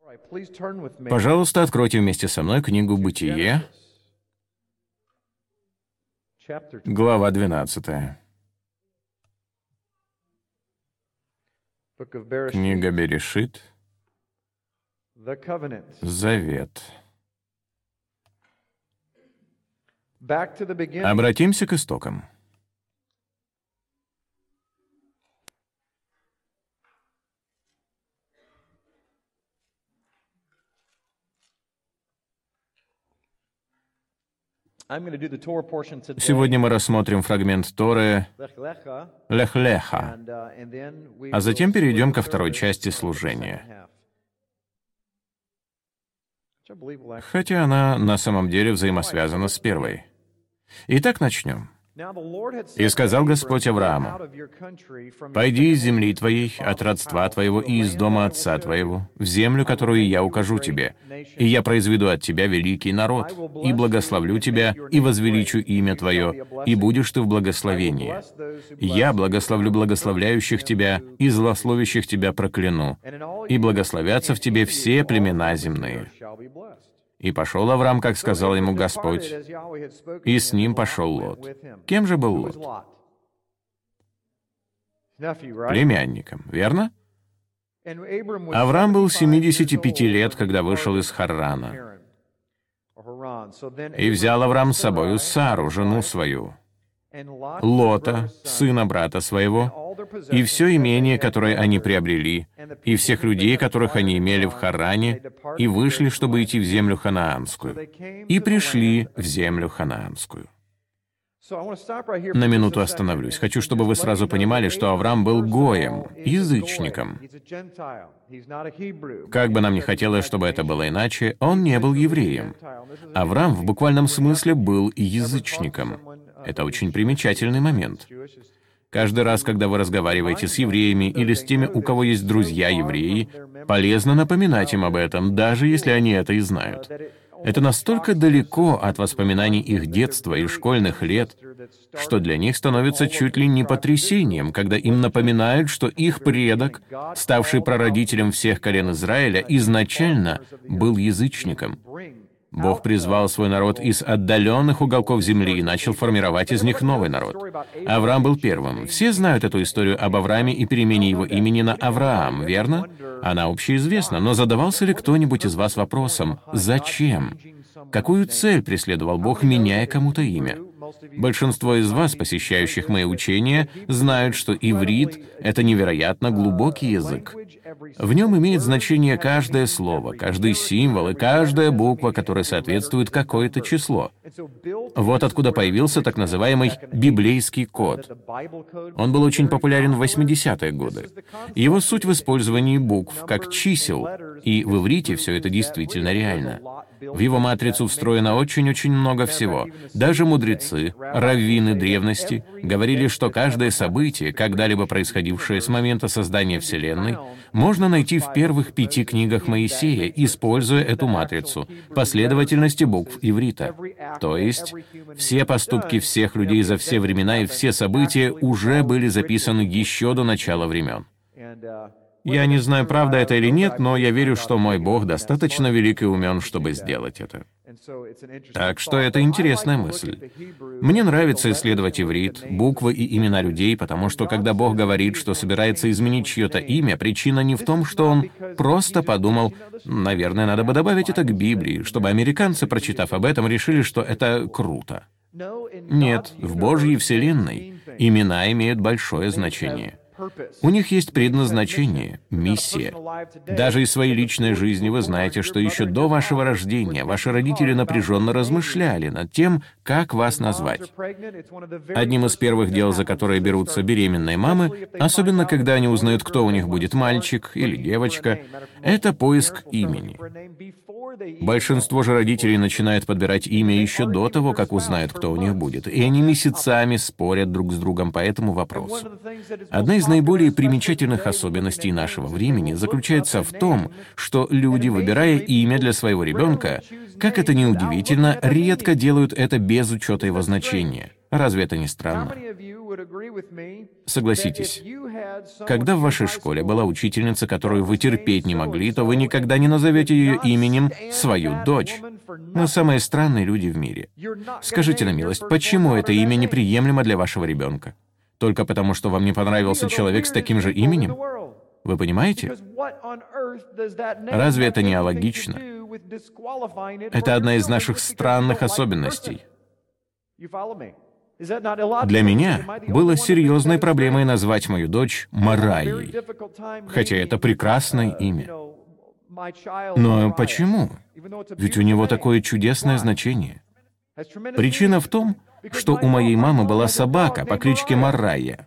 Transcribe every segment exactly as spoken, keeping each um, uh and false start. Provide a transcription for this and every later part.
Пожалуйста, откройте вместе со мной книгу «Бытие», глава двенадцатая. Книга Берешит, Завет. Обратимся к истокам. Сегодня мы рассмотрим фрагмент Торы Лех-Леха, а затем перейдем ко второй части служения. Хотя она на самом деле взаимосвязана с первой. Итак, начнем. «И сказал Господь Аврааму: «Пойди из земли твоей, от родства твоего и из дома отца твоего, в землю, которую я укажу тебе, и я произведу от тебя великий народ, и благословлю тебя, и возвеличу имя твое, и будешь ты в благословении. Я благословлю благословляющих тебя, и злословящих тебя прокляну, и благословятся в тебе все племена земные». И пошел Авраам, как сказал ему Господь, и с ним пошел Лот. Кем же был Лот? Племянником, верно? Авраам был семидесяти пяти лет, когда вышел из Харрана. И взял Авраам с собою Сару, жену свою, Лота, сына брата своего, и все имение, которое они приобрели, и всех людей, которых они имели в Харране, и вышли, чтобы идти в землю ханаанскую, и пришли в землю ханаанскую. На минуту остановлюсь. Хочу, чтобы вы сразу понимали, что Авраам был гоем, язычником. Как бы нам ни хотелось, чтобы это было иначе, он не был евреем. Авраам в буквальном смысле был язычником. Это очень примечательный момент. Каждый раз, когда вы разговариваете с евреями или с теми, у кого есть друзья-евреи, полезно напоминать им об этом, даже если они это и знают. Это настолько далеко от воспоминаний их детства и школьных лет, что для них становится чуть ли не потрясением, когда им напоминают, что их предок, ставший прародителем всех колен Израиля, изначально был язычником. Бог призвал свой народ из отдаленных уголков земли и начал формировать из них новый народ. Авраам был первым. Все знают эту историю об Аврааме и перемене его имени на Авраам, верно? Она общеизвестна, но задавался ли кто-нибудь из вас вопросом «Зачем?» Какую цель преследовал Бог, меняя кому-то имя? Большинство из вас, посещающих мои учения, знают, что иврит — это невероятно глубокий язык. В нем имеет значение каждое слово, каждый символ и каждая буква, которая соответствует какое-то число. Вот откуда появился так называемый библейский код. Он был очень популярен в восьмидесятые годы. Его суть в использовании букв как чисел, и в иврите все это действительно реально. В его матрицу встроено очень-очень много всего. Даже мудрецы, раввины древности говорили, что каждое событие, когда-либо происходившее с момента создания Вселенной, можно найти в первых пяти книгах Моисея, используя эту матрицу, последовательности букв иврита. То есть, все поступки всех людей за все времена и все события уже были записаны еще до начала времен. Я не знаю, правда это или нет, но я верю, что мой Бог достаточно велик и умен, чтобы сделать это. Так что это интересная мысль. Мне нравится исследовать иврит, буквы и имена людей, потому что когда Бог говорит, что собирается изменить чье-то имя, причина не в том, что Он просто подумал, наверное, надо бы добавить это к Библии, чтобы американцы, прочитав об этом, решили, что это круто. Нет, в Божьей Вселенной имена имеют большое значение. У них есть предназначение, миссия. Даже из своей личной жизни вы знаете, что еще до вашего рождения ваши родители напряженно размышляли над тем, как вас назвать. Одним из первых дел, за которые берутся беременные мамы, особенно когда они узнают, кто у них будет, мальчик или девочка, это поиск имени. Большинство же родителей начинают подбирать имя еще до того, как узнают, кто у них будет, и они месяцами спорят друг с другом по этому вопросу. Одна из наиболее примечательных особенностей нашего времени заключается в том, что люди, выбирая имя для своего ребенка, как это ни удивительно, редко делают это без учета его значения. Разве это не странно? Согласитесь, когда в вашей школе была учительница, которую вы терпеть не могли, то вы никогда не назовете ее именем свою дочь. Мы самые странные люди в мире. Скажите на милость, почему это имя неприемлемо для вашего ребенка? Только потому, что вам не понравился человек с таким же именем? Вы понимаете? Разве это не алогично? Это одна из наших странных особенностей. Для меня было серьезной проблемой назвать мою дочь Марайей, хотя это прекрасное имя. Но почему? Ведь у него такое чудесное значение. Причина в том, что у моей мамы была собака по кличке Марайя.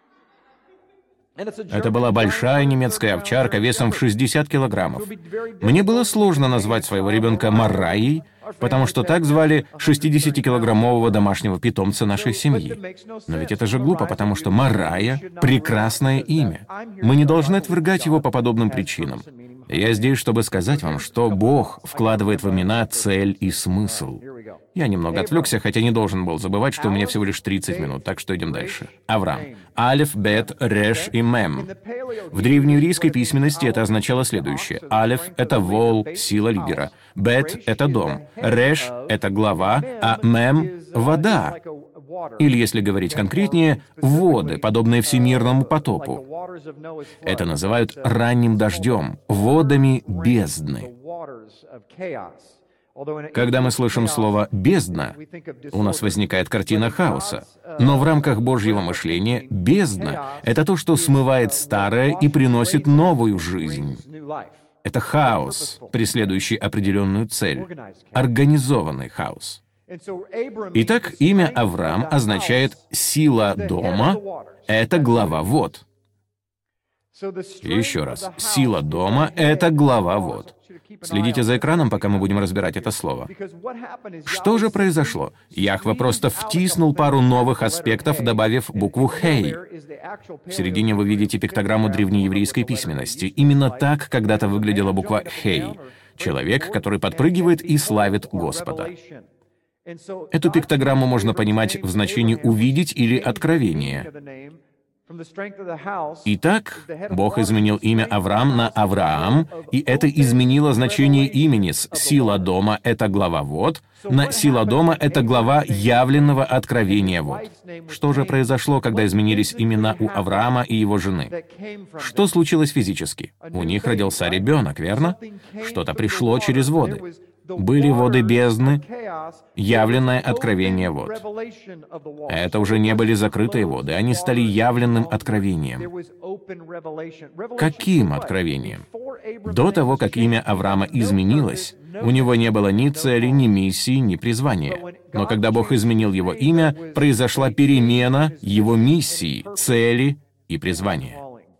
Это была большая немецкая овчарка весом в шестьдесят килограммов. Мне было сложно назвать своего ребенка Марайей, потому что так звали шестидесятикилограммового домашнего питомца нашей семьи. Но ведь это же глупо, потому что Марайя — прекрасное имя. Мы не должны отвергать его по подобным причинам. Я здесь, чтобы сказать вам, что Бог вкладывает в имена цель и смысл. Я немного отвлекся, хотя не должен был забывать, что у меня всего лишь тридцать минут, так что идем дальше. Авраам. Алеф, Бет, Реш и Мем. В древнееврейской письменности это означало следующее. Алеф — это вол, сила лидера. Бет — это дом. Реш — это глава, а Мем — вода. Или, если говорить конкретнее, воды, подобные всемирному потопу. Это называют ранним дождем, водами бездны. Когда мы слышим слово «бездна», у нас возникает картина хаоса. Но в рамках Божьего мышления бездна — это то, что смывает старое и приносит новую жизнь. Это хаос, преследующий определенную цель. Организованный хаос. Итак, имя Авраам означает «сила дома» — это глава вод. Еще раз. Сила дома — это глава вод. Следите за экраном, пока мы будем разбирать это слово. Что же произошло? Яхве просто втиснул пару новых аспектов, добавив букву «хей». В середине вы видите пиктограмму древнееврейской письменности. Именно так когда-то выглядела буква «хей». Человек, который подпрыгивает и славит Господа. Эту пиктограмму можно понимать в значении «увидеть» или «откровение». Итак, Бог изменил имя Авраам на Авраам, и это изменило значение имени с «сила дома» — это глава вод, на «сила дома» — это глава явленного откровения вод. Что же произошло, когда изменились имена у Авраама и его жены? Что случилось физически? У них родился ребенок, верно? Что-то пришло через воды. Были воды бездны, явленное откровение вод. Это уже не были закрытые воды, они стали явленным откровением. Каким откровением? До того, как имя Авраама изменилось, у него не было ни цели, ни миссии, ни призвания. Но когда Бог изменил его имя, произошла перемена его миссии, цели и призвания.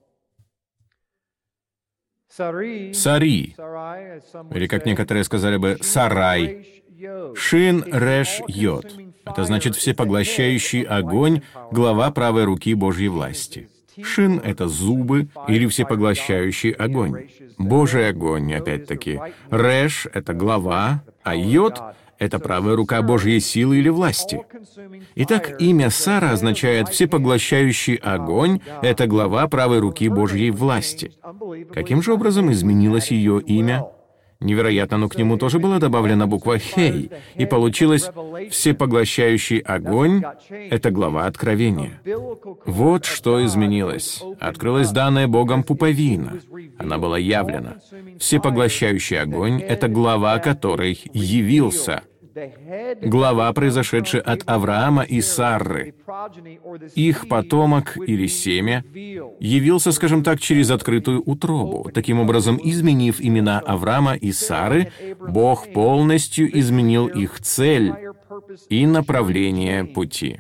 Сари, или, как некоторые сказали бы, Сарай. Шин, Реш, Йод. Это значит всепоглощающий огонь, глава правой руки Божьей власти. Шин — это зубы или всепоглощающий огонь. Божий огонь, опять-таки. Реш — это глава, а Йод — это правая рука Божьей силы или власти. Итак, имя Сара означает «всепоглощающий огонь» — это глава правой руки Божьей власти. Каким же образом изменилось ее имя? Невероятно, но к нему тоже была добавлена буква «хей», и получилось «всепоглощающий огонь» — это глава откровения. Вот что изменилось. Открылась данная Богом пуповина. Она была явлена. Всепоглощающий огонь — это глава, который явился. Глава, произошедшая от Авраама и Сарры. Их потомок или семя явился, скажем так, через открытую утробу. Таким образом, изменив имена Авраама и Сары, Бог полностью изменил их цель и направление пути.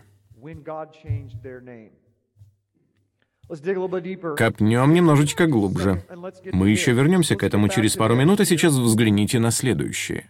Копнем немножечко глубже. Мы еще вернемся к этому через пару минут, а сейчас взгляните на следующее.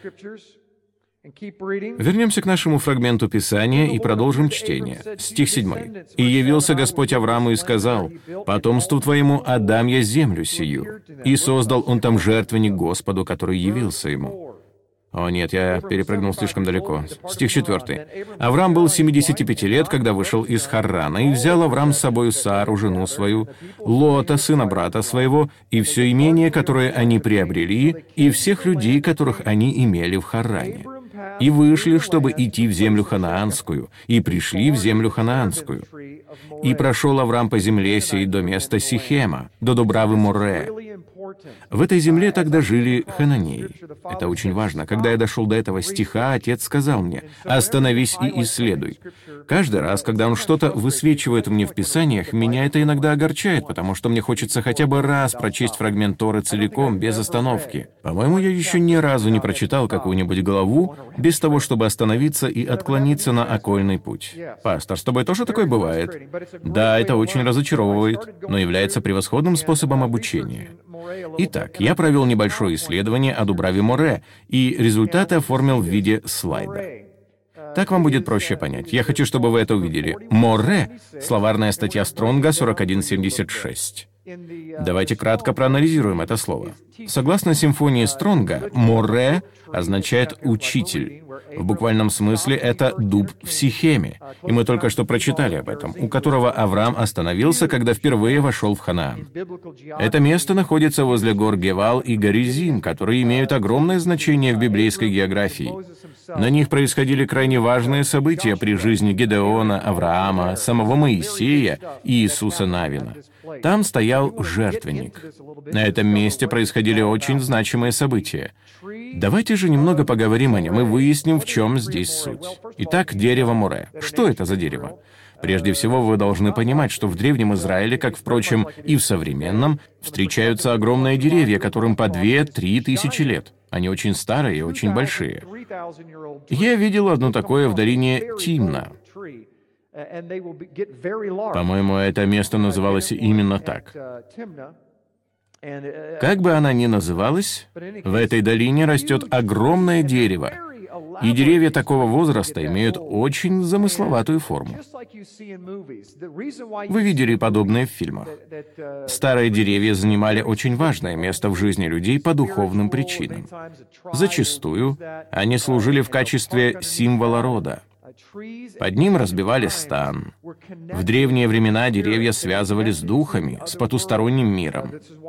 Вернемся к нашему фрагменту Писания и продолжим чтение. Стих седьмой. «И явился Господь Аврааму и сказал: потомству твоему отдам я землю сию. И создал он там жертвенник Господу, который явился ему». О нет, я перепрыгнул слишком далеко. Стих четвертый. «Авраам был семидесяти пяти лет, когда вышел из Харрана, и взял Авраам с собою Сару, жену свою, Лота, сына брата своего, и все имение, которое они приобрели, и всех людей, которых они имели в Харране. И вышли, чтобы идти в землю ханаанскую, и пришли в землю ханаанскую. И прошел Авраам по земле сей до места Сихема, до Дубравы Море. В этой земле тогда жили хананеи». Это очень важно. Когда я дошел до этого стиха, отец сказал мне: «Остановись и исследуй». Каждый раз, когда он что-то высвечивает мне в Писаниях, меня это иногда огорчает, потому что мне хочется хотя бы раз прочесть фрагмент Торы целиком, без остановки. По-моему, я еще ни разу не прочитал какую-нибудь главу без того, чтобы остановиться и отклониться на окольный путь. Пастор, с тобой тоже такое бывает? Да, это очень разочаровывает, но является превосходным способом обучения. Итак, я провел небольшое исследование о Дубраве Море, и результаты оформил в виде слайда. Так вам будет проще понять. Я хочу, чтобы вы это увидели. Море — словарная статья Стронга сорок один семьдесят шесть. Давайте кратко проанализируем это слово. Согласно симфонии Стронга, «море» означает «учитель». В буквальном смысле это «дуб в Сихеме», и мы только что прочитали об этом, у которого Авраам остановился, когда впервые вошел в Ханаан. Это место находится возле гор Гевал и Горизим, которые имеют огромное значение в библейской географии. На них происходили крайне важные события при жизни Гедеона, Авраама, самого Моисея и Иисуса Навина. Там стоял жертвенник. На этом месте происходили очень значимые события. Давайте же немного поговорим о нем и выясним, в чем здесь суть. Итак, дерево Море. Что это за дерево? Прежде всего, вы должны понимать, что в Древнем Израиле, как, впрочем, и в современном, встречаются огромные деревья, которым по две-три тысячи лет. Они очень старые и очень большие. Я видел одно такое в долине Тимна. По-моему, это место называлось именно так. Как бы она ни называлась, в этой долине растет огромное дерево, и деревья такого возраста имеют очень замысловатую форму. Вы видели подобное в фильмах. Старые деревья занимали очень важное место в жизни людей по духовным причинам. Зачастую они служили в качестве символа рода. Под ним разбивали стан. В древние времена деревья связывали с духами, с потусторонним миром.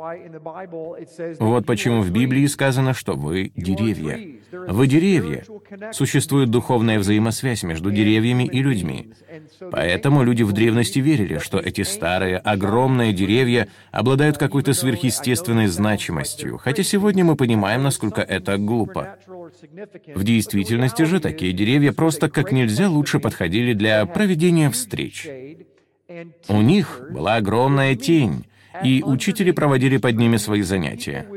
Вот почему в Библии сказано, что вы — деревья. Вы — деревья. Существует духовная взаимосвязь между деревьями и людьми. Поэтому люди в древности верили, что эти старые, огромные деревья обладают какой-то сверхъестественной значимостью, хотя сегодня мы понимаем, насколько это глупо. В действительности же такие деревья просто как нельзя лучше подходили для проведения встреч. У них была огромная тень, и учители проводили под ними свои занятия.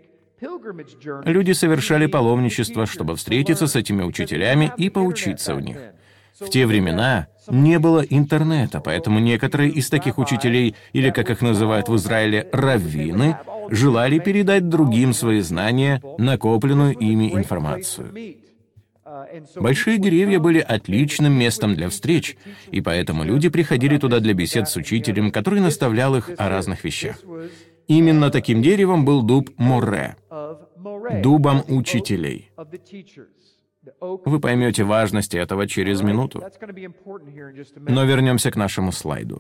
Люди совершали паломничество, чтобы встретиться с этими учителями и поучиться у них. В те времена не было интернета, поэтому некоторые из таких учителей, или, как их называют в Израиле, раввины, желали передать другим свои знания, накопленную ими информацию. Большие деревья были отличным местом для встреч, и поэтому люди приходили туда для бесед с учителем, который наставлял их о разных вещах. Именно таким деревом был дуб Море, дубом учителей. Вы поймете важность этого через минуту. Но вернемся к нашему слайду.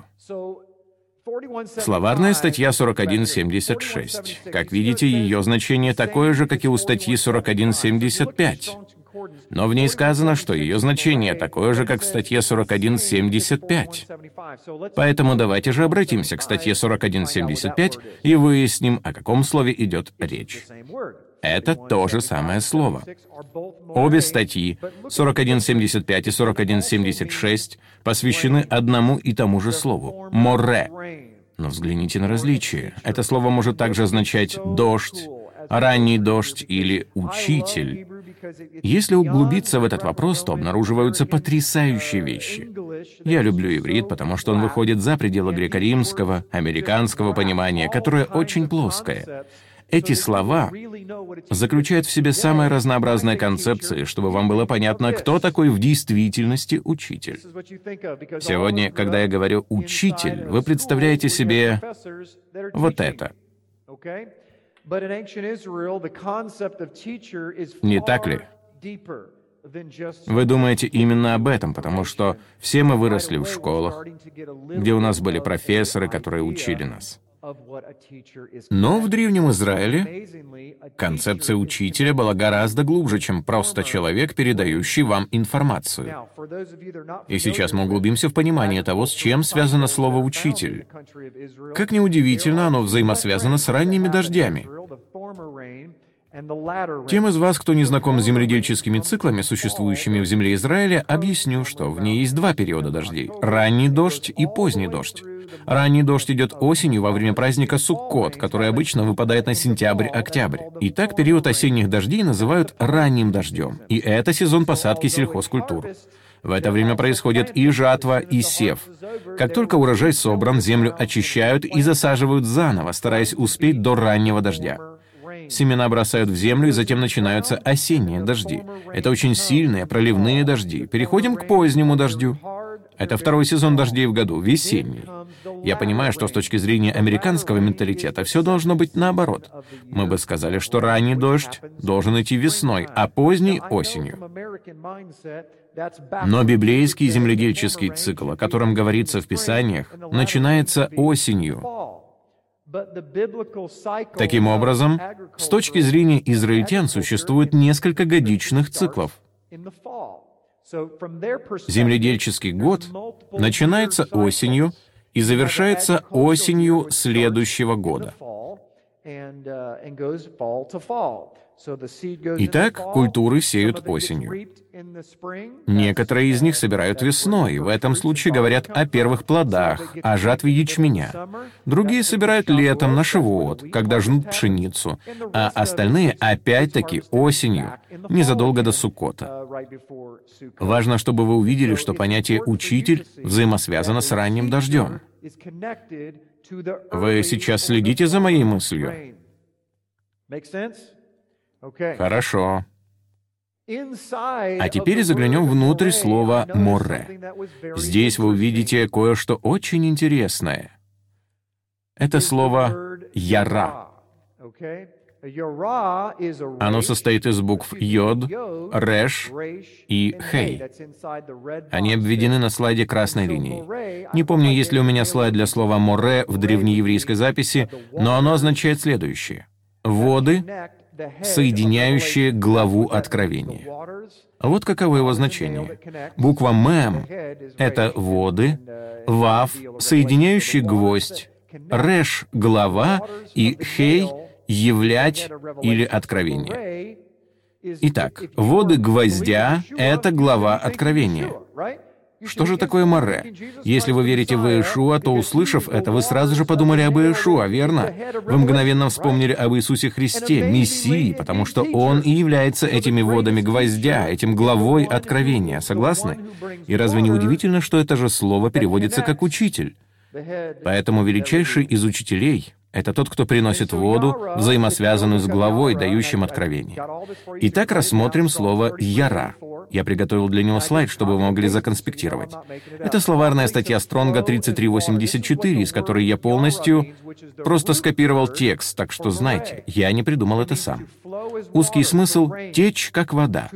Словарная статья сорок один семьдесят шесть. Как видите, ее значение такое же, как и у статьи сорок один семьдесят пять. Но в ней сказано, что ее значение такое же, как в статье сорок один семьдесят пять. Поэтому давайте же обратимся к статье сорок один семьдесят пять и выясним, о каком слове идет речь. Это то же самое слово. Обе статьи, сорок один семьдесят пять и сорок один семьдесят шесть, посвящены одному и тому же слову — «море». Но взгляните на различия. Это слово может также означать «дождь», «ранний дождь» или «учитель». Если углубиться в этот вопрос, то обнаруживаются потрясающие вещи. Я люблю иврит, потому что он выходит за пределы греко-римского, американского понимания, которое очень плоское. Эти слова заключают в себе самые разнообразные концепции, чтобы вам было понятно, кто такой в действительности учитель. Сегодня, когда я говорю «учитель», вы представляете себе вот это. Не так ли? Вы думаете именно об этом, потому что все мы выросли в школах, где у нас были профессоры, которые учили нас. Но в Древнем Израиле концепция учителя была гораздо глубже, чем просто человек, передающий вам информацию. И сейчас мы углубимся в понимание того, с чем связано слово «учитель». Как ни удивительно, оно взаимосвязано с ранними дождями. Тем из вас, кто не знаком с земледельческими циклами, существующими в земле Израиля, объясню, что в ней есть два периода дождей — ранний дождь и поздний дождь. Ранний дождь идет осенью во время праздника Суккот, который обычно выпадает на сентябрь-октябрь. И так период осенних дождей называют ранним дождем. И это сезон посадки сельхозкультур. В это время происходит и жатва, и сев. Как только урожай собран, землю очищают и засаживают заново, стараясь успеть до раннего дождя. Семена бросают в землю, и затем начинаются осенние дожди. Это очень сильные проливные дожди. Переходим к позднему дождю. Это второй сезон дождей в году, весенний. Я понимаю, что с точки зрения американского менталитета все должно быть наоборот. Мы бы сказали, что ранний дождь должен идти весной, а поздний — осенью. Но библейский земледельческий цикл, о котором говорится в Писаниях, начинается осенью. Таким образом, с точки зрения израильтян существует несколько годичных циклов. Земледельческий год начинается осенью и завершается осенью следующего года. Итак, культуры сеют осенью. Некоторые из них собирают весной, в этом случае говорят о первых плодах, о жатве ячменя. Другие собирают летом, на Шивот, когда жнут пшеницу, а остальные опять-таки осенью, незадолго до Суккота. Важно, чтобы вы увидели, что понятие «учитель» взаимосвязано с ранним дождем. Вы сейчас следите за моей мыслью? Хорошо. А теперь заглянем внутрь слова «море». Здесь вы увидите кое-что очень интересное. Это слово «яра». Оно состоит из букв «йод», «реш» и «хей». Они обведены на слайде красной линией. Не помню, есть ли у меня слайд для слова «море» в древнееврейской записи, но оно означает следующее. «Воды», соединяющие главу Откровения. Вот каково его значение. Буква «мем» — это воды, «вав» — соединяющий гвоздь, «реш» — глава и «хей» — являть или откровение. Итак, воды гвоздя — это глава Откровения. Что же такое море? Если вы верите в Иешуа, то, услышав это, вы сразу же подумали об Иешуа, верно? Вы мгновенно вспомнили об Иисусе Христе, Мессии, потому что Он и является этими водами гвоздя, этим главой Откровения. Согласны? И разве не удивительно, что это же слово переводится как «учитель»? Поэтому величайший из учителей — это тот, кто приносит воду, взаимосвязанную с главой, дающим откровение. Итак, рассмотрим слово «яра». Я приготовил для него слайд, чтобы вы могли законспектировать. Это словарная статья Стронга тридцать три восемьдесят четыре, из которой я полностью просто скопировал текст, так что знайте, я не придумал это сам. Узкий смысл — течь, как вода.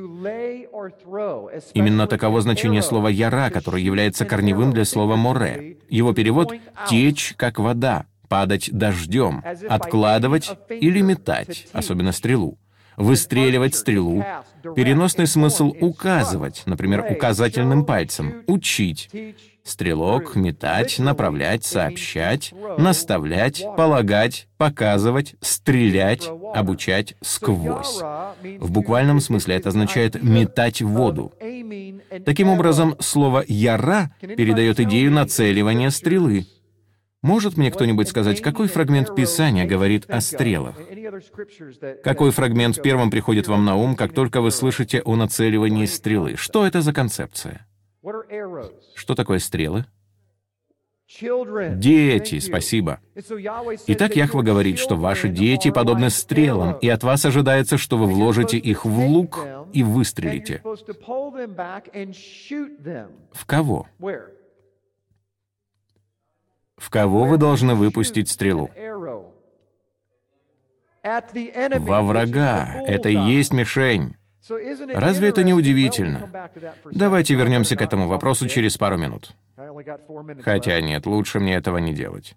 Именно таково значение слова «яра», которое является корневым для слова «море». Его перевод — «течь, как вода», «падать дождем», «откладывать» или «метать», особенно стрелу. Выстреливать стрелу. Переносный смысл — указывать, например, указательным пальцем, учить. Стрелок — метать, направлять, сообщать, наставлять, полагать, показывать, стрелять, обучать сквозь. В буквальном смысле это означает «метать в воду». Таким образом, слово «яра» передает идею нацеливания стрелы. Может мне кто-нибудь сказать, какой фрагмент Писания говорит о стрелах? Какой фрагмент первым приходит вам на ум, как только вы слышите о нацеливании стрелы? Что это за концепция? Что такое стрелы? Дети, спасибо. Итак, Яхва говорит, что ваши дети подобны стрелам, и от вас ожидается, что вы вложите их в лук и выстрелите. В кого? В кого вы должны выпустить стрелу? Во врага. Это и есть мишень. Разве это не удивительно? Давайте вернемся к этому вопросу через пару минут. Хотя нет, лучше мне этого не делать.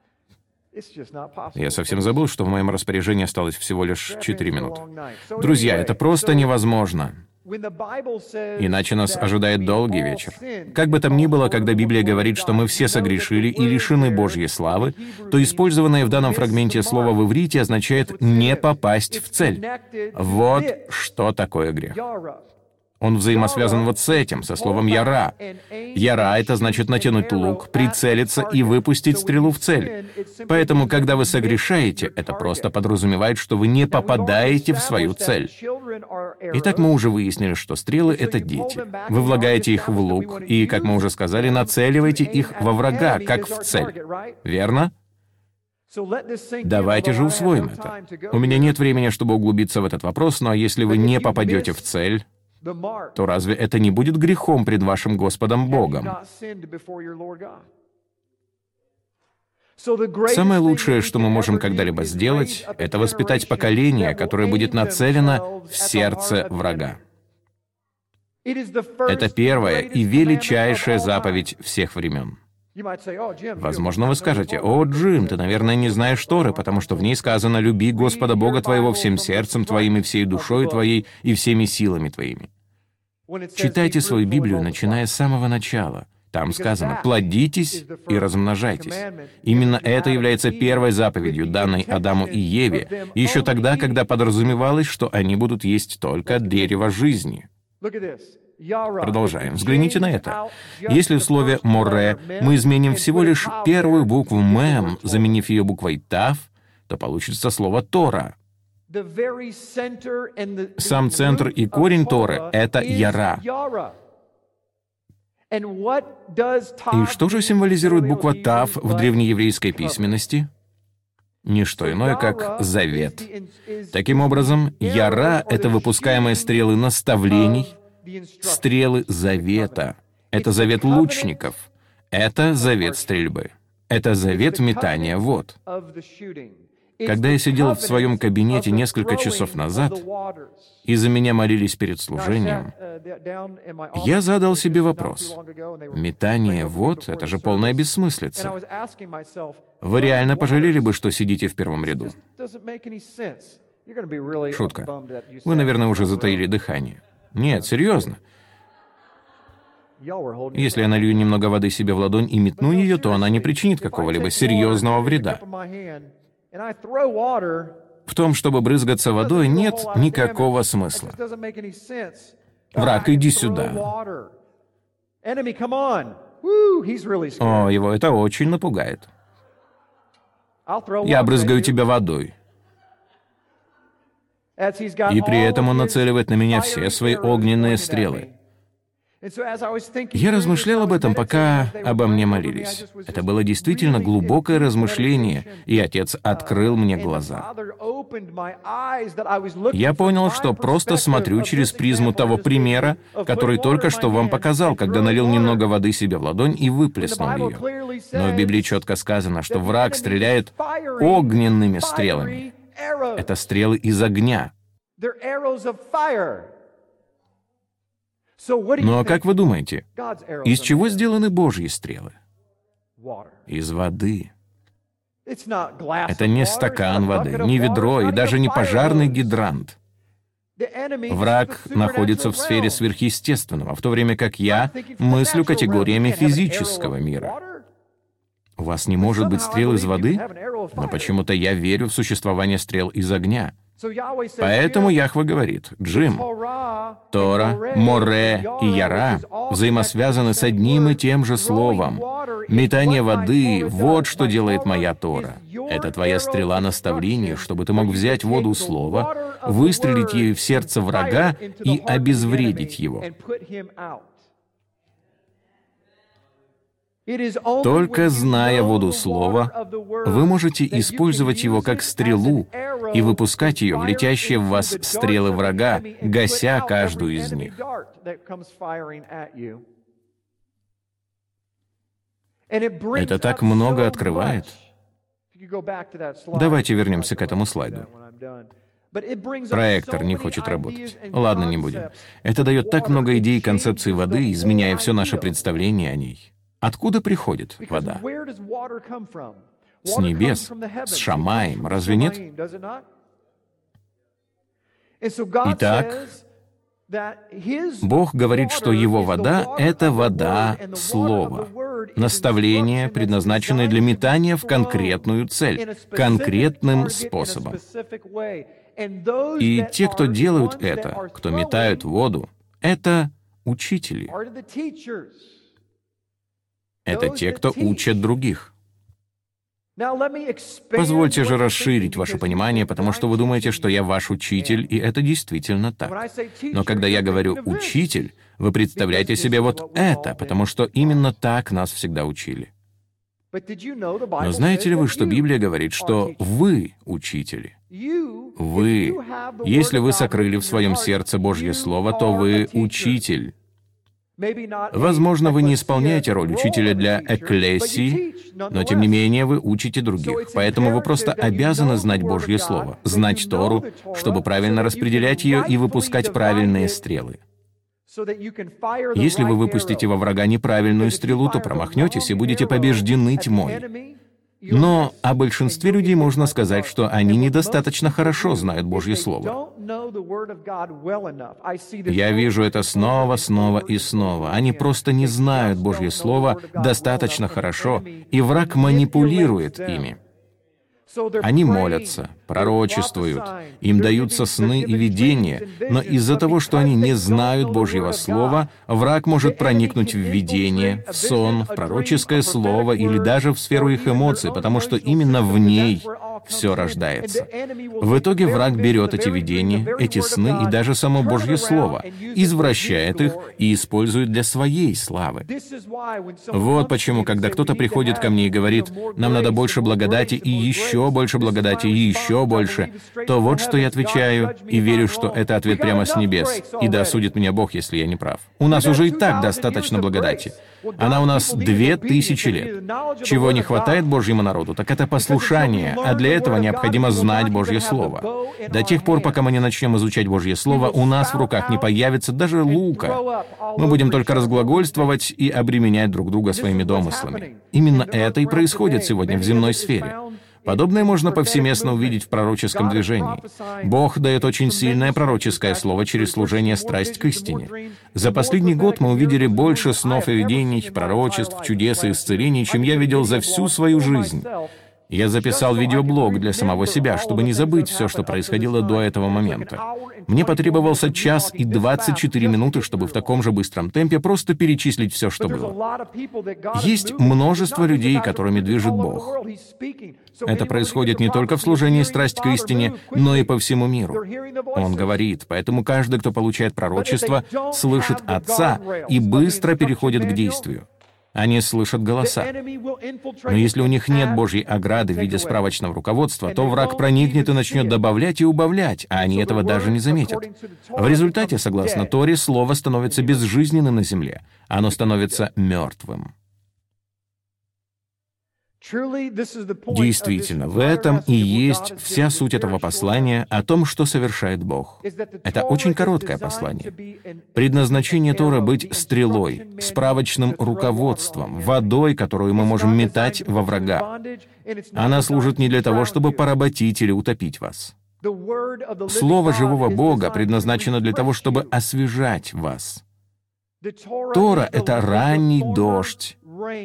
Я совсем забыл, что в моем распоряжении осталось всего лишь четыре минуты. Друзья, это просто невозможно. Иначе нас ожидает долгий вечер. Как бы там ни было, когда Библия говорит, что мы все согрешили и лишены Божьей славы, то использованное в данном фрагменте слово в иврите означает «не попасть в цель». Вот что такое грех. Он взаимосвязан вот с этим, со словом «яра». «Яра» — это значит натянуть лук, прицелиться и выпустить стрелу в цель. Поэтому, когда вы согрешаете, это просто подразумевает, что вы не попадаете в свою цель. Итак, мы уже выяснили, что стрелы — это дети. Вы влагаете их в лук и, как мы уже сказали, нацеливаете их во врага, как в цель. Верно? Давайте же усвоим это. У меня нет времени, чтобы углубиться в этот вопрос, но если вы не попадете в цель, то разве это не будет грехом пред вашим Господом Богом? Самое лучшее, что мы можем когда-либо сделать, это воспитать поколение, которое будет нацелено в сердце врага. Это первая и величайшая заповедь всех времен. Возможно, вы скажете: «О, Джим, ты, наверное, не знаешь Торы, потому что в ней сказано: люби Господа Бога твоего всем сердцем твоим и всей душой твоей и всеми силами твоими». Читайте свою Библию, начиная с самого начала. Там сказано: «Плодитесь и размножайтесь». Именно это является первой заповедью, данной Адаму и Еве, еще тогда, когда подразумевалось, что они будут есть только от дерева жизни. Продолжаем. Взгляните на это. Если в слове «море» мы изменим всего лишь первую букву «мем», заменив ее буквой «тав», то получится слово «тора». Сам центр и корень Торы — это «яра». И что же символизирует буква «тав» в древнееврейской письменности? Не что иное, как завет. Таким образом, «яра» — это выпускаемые стрелы наставлений, стрелы завета. Это завет лучников. Это завет стрельбы. Это завет метания вод. Когда я сидел в своем кабинете несколько часов назад, и за меня молились перед служением, я задал себе вопрос. Метание вод — это же полная бессмыслица. Вы реально пожалели бы, что сидите в первом ряду? Шутка. Вы, наверное, уже затаили дыхание. Нет, серьезно. Если я налью немного воды себе в ладонь и метну ее, то она не причинит какого-либо серьезного вреда. В том, чтобы брызгаться водой, нет никакого смысла. Враг, иди сюда. О, его это очень напугает. Я брызгаю тебя водой. И при этом он нацеливает на меня все свои огненные стрелы. Я размышлял об этом, пока обо мне молились. Это было действительно глубокое размышление, и Отец открыл мне глаза. Я понял, что просто смотрю через призму того примера, который только что вам показал, когда налил немного воды себе в ладонь и выплеснул ее. Но в Библии четко сказано, что враг стреляет огненными стрелами. Это стрелы из огня. Ну а как вы думаете, из чего сделаны Божьи стрелы? Из воды. Это не стакан воды, не ведро и даже не пожарный гидрант. Враг находится в сфере сверхъестественного, в то время как я мыслю категориями физического мира. У вас не может быть стрел из воды? Но почему-то я верю в существование стрел из огня. Поэтому Яхве говорит: «Джим, Тора, Море и Яра взаимосвязаны с одним и тем же словом. Метание воды — вот что делает моя Тора. Это твоя стрела наставления, чтобы ты мог взять воду слова, выстрелить ею в сердце врага и обезвредить его». Только зная воду слова, вы можете использовать его как стрелу и выпускать ее в летящие в вас стрелы врага, гася каждую из них. Это так много открывает. Давайте вернемся к этому слайду. Проектор не хочет работать. Ладно, не будем. Это дает так много идей и концепций воды, изменяя все наше представление о ней. Откуда приходит вода? С небес, с Шамаем, разве нет? Итак, Бог говорит, что Его вода — это вода Слова, наставление, предназначенное для метания в конкретную цель, конкретным способом. И те, кто делают это, кто метают воду, это учители. Это те, кто учат других. Позвольте же расширить ваше понимание, потому что вы думаете, что я ваш учитель, и это действительно так. Но когда я говорю «учитель», вы представляете себе вот это, потому что именно так нас всегда учили. Но знаете ли вы, что Библия говорит, что вы учители? Вы. Если вы сокрыли в своем сердце Божье Слово, то вы учитель. Возможно, вы не исполняете роль учителя для экклесии, но тем не менее вы учите других. Поэтому вы просто обязаны знать Божье Слово, знать Тору, чтобы правильно распределять ее и выпускать правильные стрелы. Если вы выпустите во врага неправильную стрелу, то промахнетесь и будете побеждены тьмой. Но о большинстве людей можно сказать, что они недостаточно хорошо знают Божье Слово. Я вижу это снова, снова и снова. Они просто не знают Божье Слово достаточно хорошо, и враг манипулирует ими. Они молятся, пророчествуют, им даются сны и видения, но из-за того, что они не знают Божьего Слова, враг может проникнуть в видение, в сон, в пророческое слово или даже в сферу их эмоций, потому что именно в ней все рождается. В итоге враг берет эти видения, эти сны и даже само Божье Слово, извращает их и использует для своей славы. Вот почему, когда кто-то приходит ко мне и говорит, «Нам надо больше благодати и еще больше благодати и еще больше», то вот что я отвечаю, и верю, что это ответ прямо с небес. И да осудит меня Бог, если я не прав. У нас уже и так достаточно благодати. Она у нас две тысячи лет. Чего не хватает Божьему народу, так это послушание, а для этого необходимо знать Божье Слово. До тех пор, пока мы не начнем изучать Божье Слово, у нас в руках не появится даже лука. Мы будем только разглагольствовать и обременять друг друга своими домыслами. Именно это и происходит сегодня в земной сфере. Подобное можно повсеместно увидеть в пророческом движении. Бог дает очень сильное пророческое слово через служение «Страсть к истине». За последний год мы увидели больше снов и видений, пророчеств, чудес и исцелений, чем я видел за всю свою жизнь. Я записал видеоблог для самого себя, чтобы не забыть все, что происходило до этого момента. Мне потребовался час и двадцать четыре минуты, чтобы в таком же быстром темпе просто перечислить все, что было. Есть множество людей, которыми движет Бог. Это происходит не только в служении «Страсть к истине», но и по всему миру. Он говорит, поэтому каждый, кто получает пророчество, слышит Отца и быстро переходит к действию. Они слышат голоса. Но если у них нет Божьей ограды в виде справочного руководства, то враг проникнет и начнет добавлять и убавлять, а они этого даже не заметят. В результате, согласно Торе, слово становится безжизненным на земле. Оно становится мертвым. Действительно, в этом и есть вся суть этого послания о том, что совершает Бог. Это очень короткое послание. Предназначение Торы — быть стрелой, справочным руководством, водой, которую мы можем метать во врага. Она служит не для того, чтобы поработить или утопить вас. Слово живого Бога предназначено для того, чтобы освежать вас. Тора — это ранний дождь.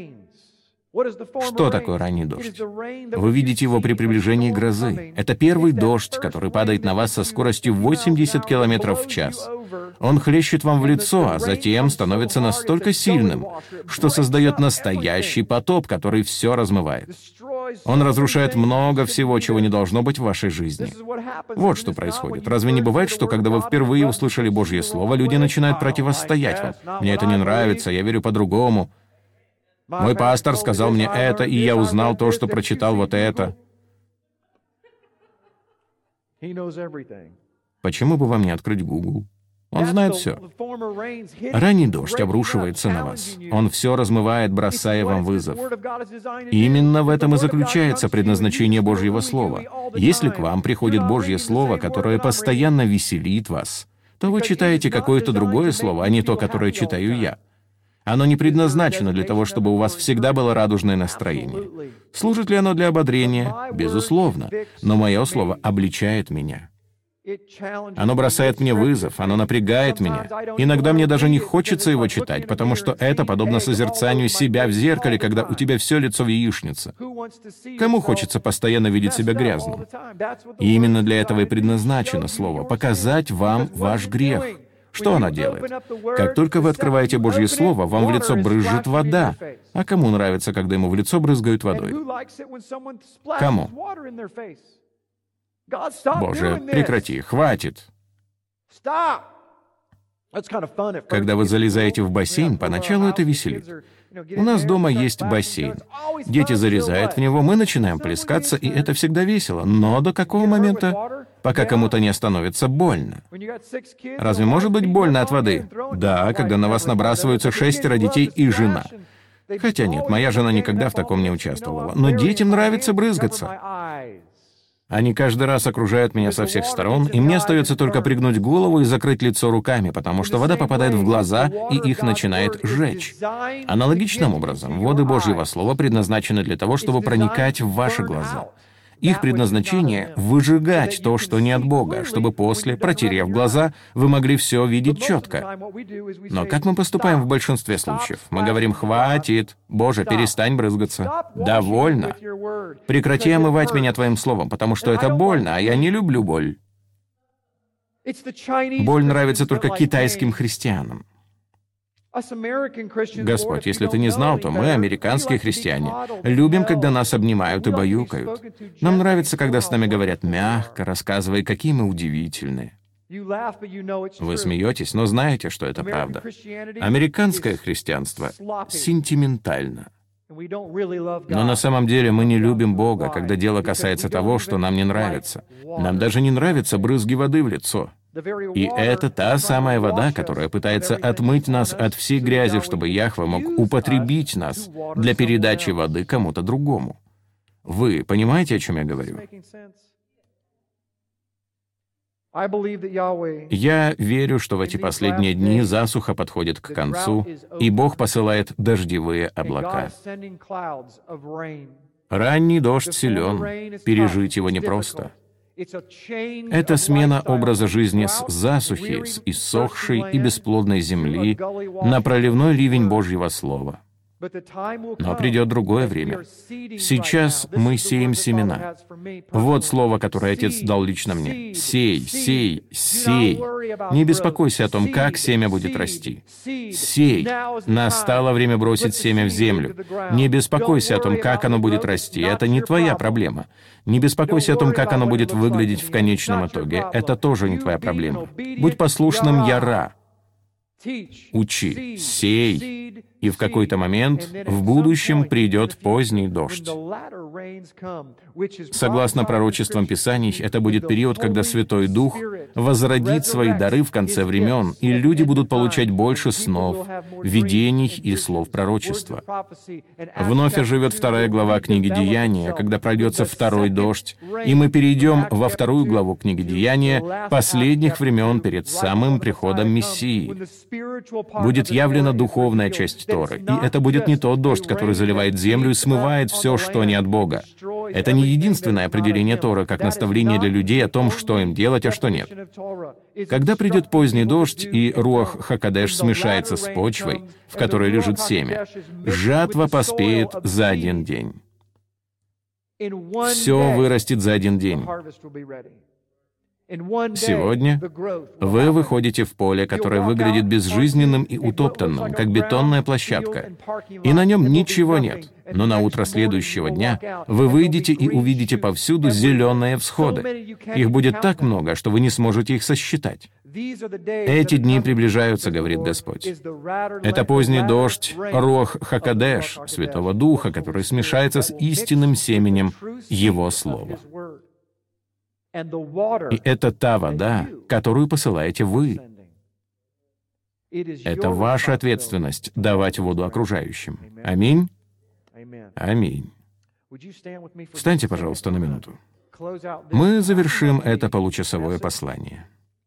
Что такое ранний дождь? Вы видите его при приближении грозы. Это первый дождь, который падает на вас со скоростью восемьдесят километров в час. Он хлещет вам в лицо, а затем становится настолько сильным, что создает настоящий потоп, который все размывает. Он разрушает много всего, чего не должно быть в вашей жизни. Вот что происходит. Разве не бывает, что когда вы впервые услышали Божье Слово, люди начинают противостоять вам? Мне это не нравится, я верю по-другому. Мой пастор сказал мне это, и я узнал то, что прочитал вот это. Почему бы вам не открыть Google? Он знает все. Ранний дождь обрушивается на вас. Он все размывает, бросая вам вызов. Именно в этом и заключается предназначение Божьего Слова. Если к вам приходит Божье Слово, которое постоянно веселит вас, то вы читаете какое-то другое слово, а не то, которое читаю я. Оно не предназначено для того, чтобы у вас всегда было радужное настроение. Служит ли оно для ободрения? Безусловно. Но мое слово обличает меня. Оно бросает мне вызов, оно напрягает меня. Иногда мне даже не хочется его читать, потому что это подобно созерцанию себя в зеркале, когда у тебя все лицо в яичнице. Кому хочется постоянно видеть себя грязным? И именно для этого и предназначено слово — показать вам ваш грех. Что оно делает? Как только вы открываете Божье Слово, вам в лицо брызжет вода. А кому нравится, когда ему в лицо брызгают водой? Кому? Боже, прекрати, хватит. Когда вы залезаете в бассейн, поначалу это веселит. У нас дома есть бассейн. Дети залезают в него, мы начинаем плескаться, и это всегда весело. Но до какого момента? Пока кому-то не становится больно. Разве может быть больно от воды? Да, когда на вас набрасываются шестеро детей и жена. Хотя нет, моя жена никогда в таком не участвовала. Но детям нравится брызгаться. Они каждый раз окружают меня со всех сторон, и мне остается только пригнуть голову и закрыть лицо руками, потому что вода попадает в глаза, и их начинает жечь. Аналогичным образом, воды Божьего Слова предназначены для того, чтобы проникать в ваши глаза. Их предназначение — выжигать то, что не от Бога, чтобы после, протерев глаза, вы могли все видеть четко. Но как мы поступаем в большинстве случаев? Мы говорим: «Хватит! Боже, перестань брызгаться! Довольно! Прекрати омывать меня Твоим Словом, потому что это больно, а я не люблю боль». Боль нравится только китайским христианам. Господь, если ты не знал, то мы, американские христиане, любим, когда нас обнимают и баюкают. Нам нравится, когда с нами говорят мягко, рассказывая, какие мы удивительные. Вы смеетесь, но знаете, что это правда. Американское христианство сентиментально. Но на самом деле мы не любим Бога, когда дело касается того, что нам не нравится. Нам даже не нравятся брызги воды в лицо. И это та самая вода, которая пытается отмыть нас от всей грязи, чтобы Яхве мог употребить нас для передачи воды кому-то другому. Вы понимаете, о чем я говорю? Я верю, что в эти последние дни засуха подходит к концу, и Бог посылает дождевые облака. Ранний дождь силен, пережить его непросто. Это смена образа жизни с засухи, с иссохшей и бесплодной земли на проливной ливень Божьего Слова. Но придет другое время. Сейчас мы сеем семена. Вот слово, которое Отец дал лично мне. Сей, сей, сей. Не беспокойся о том, как семя будет расти. Сей. Настало время бросить семя в землю. Не беспокойся о том, как оно будет расти. Это не твоя проблема. Не беспокойся о том, как оно будет выглядеть в конечном итоге. Это тоже не твоя проблема. Будь послушным Яра. Учи, сей, и в какой-то момент в будущем придет поздний дождь. Согласно пророчествам Писаний, это будет период, когда Святой Дух возродит свои дары в конце времен, и люди будут получать больше снов, видений и слов пророчества. Вновь оживет вторая глава книги Деяния, когда прольется второй дождь, и мы перейдем во вторую главу книги Деяния последних времен перед самым приходом Мессии. Будет явлена духовная часть Торы, и это будет не тот дождь, который заливает землю и смывает все, что не от Бога. Это не единственное определение Торы, как наставление для людей о том, что им делать, а что нет. Когда придет поздний дождь, и Руах Хакодеш смешается с почвой, в которой лежит семя, жатва поспеет за один день. Все вырастет за один день. Сегодня вы выходите в поле, которое выглядит безжизненным и утоптанным, как бетонная площадка, и на нем ничего нет. Но на утро следующего дня вы выйдете и увидите повсюду зеленые всходы. Их будет так много, что вы не сможете их сосчитать. Эти дни приближаются, говорит Господь. Это поздний дождь, Руах Хакодеш, Святого Духа, который смешается с истинным семенем Его Слова. И это та вода, которую посылаете вы. Это ваша ответственность — давать воду окружающим. Аминь? Аминь. Встаньте, пожалуйста, на минуту. Мы завершим это получасовое послание.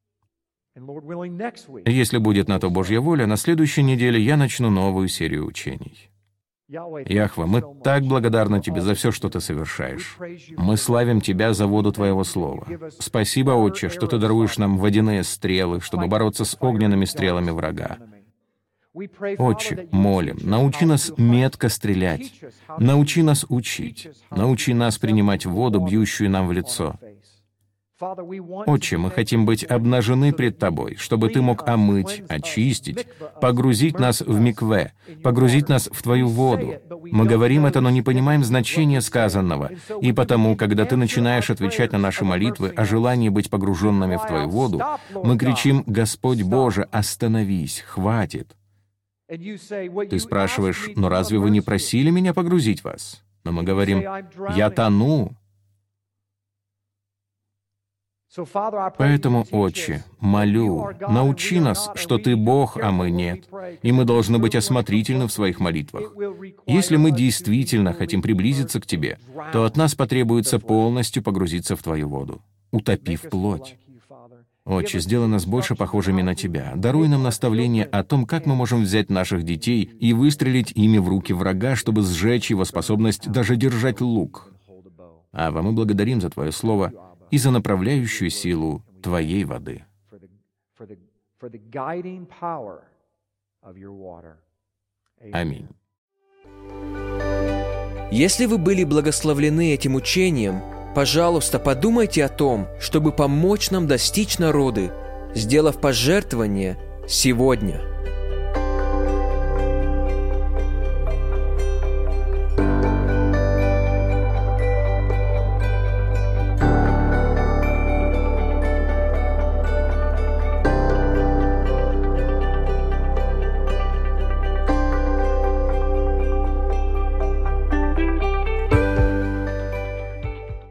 Если будет на то Божья воля, на следующей неделе я начну новую серию учений. Яхва, мы так благодарны Тебе за все, что Ты совершаешь. Мы славим Тебя за воду Твоего Слова. Спасибо, Отче, что Ты даруешь нам водяные стрелы, чтобы бороться с огненными стрелами врага. Отче, молим, научи нас метко стрелять, научи нас учить, научи нас принимать воду, бьющую нам в лицо. Отче, мы хотим быть обнажены пред Тобой, чтобы Ты мог омыть, очистить, погрузить нас в микве, погрузить нас в Твою воду. Мы говорим это, но не понимаем значения сказанного, и потому, когда Ты начинаешь отвечать на наши молитвы о желании быть погруженными в Твою воду, мы кричим: «Господь Боже, остановись, хватит». Ты спрашиваешь: «Но разве вы не просили меня погрузить вас?» Но мы говорим: «Я тону». Поэтому, Отче, молю, научи нас, что Ты Бог, а мы нет, и мы должны быть осмотрительны в своих молитвах. Если мы действительно хотим приблизиться к Тебе, то от нас потребуется полностью погрузиться в Твою воду, утопив плоть. Отче, сделай нас больше похожими на Тебя. Даруй нам наставление о том, как мы можем взять наших детей и выстрелить ими в руки врага, чтобы сжечь его способность даже держать лук. Ава, мы благодарим за Твое Слово и за направляющую силу Твоей воды. Аминь. Если вы были благословлены этим учением, пожалуйста, подумайте о том, чтобы помочь нам достичь народы, сделав пожертвование сегодня.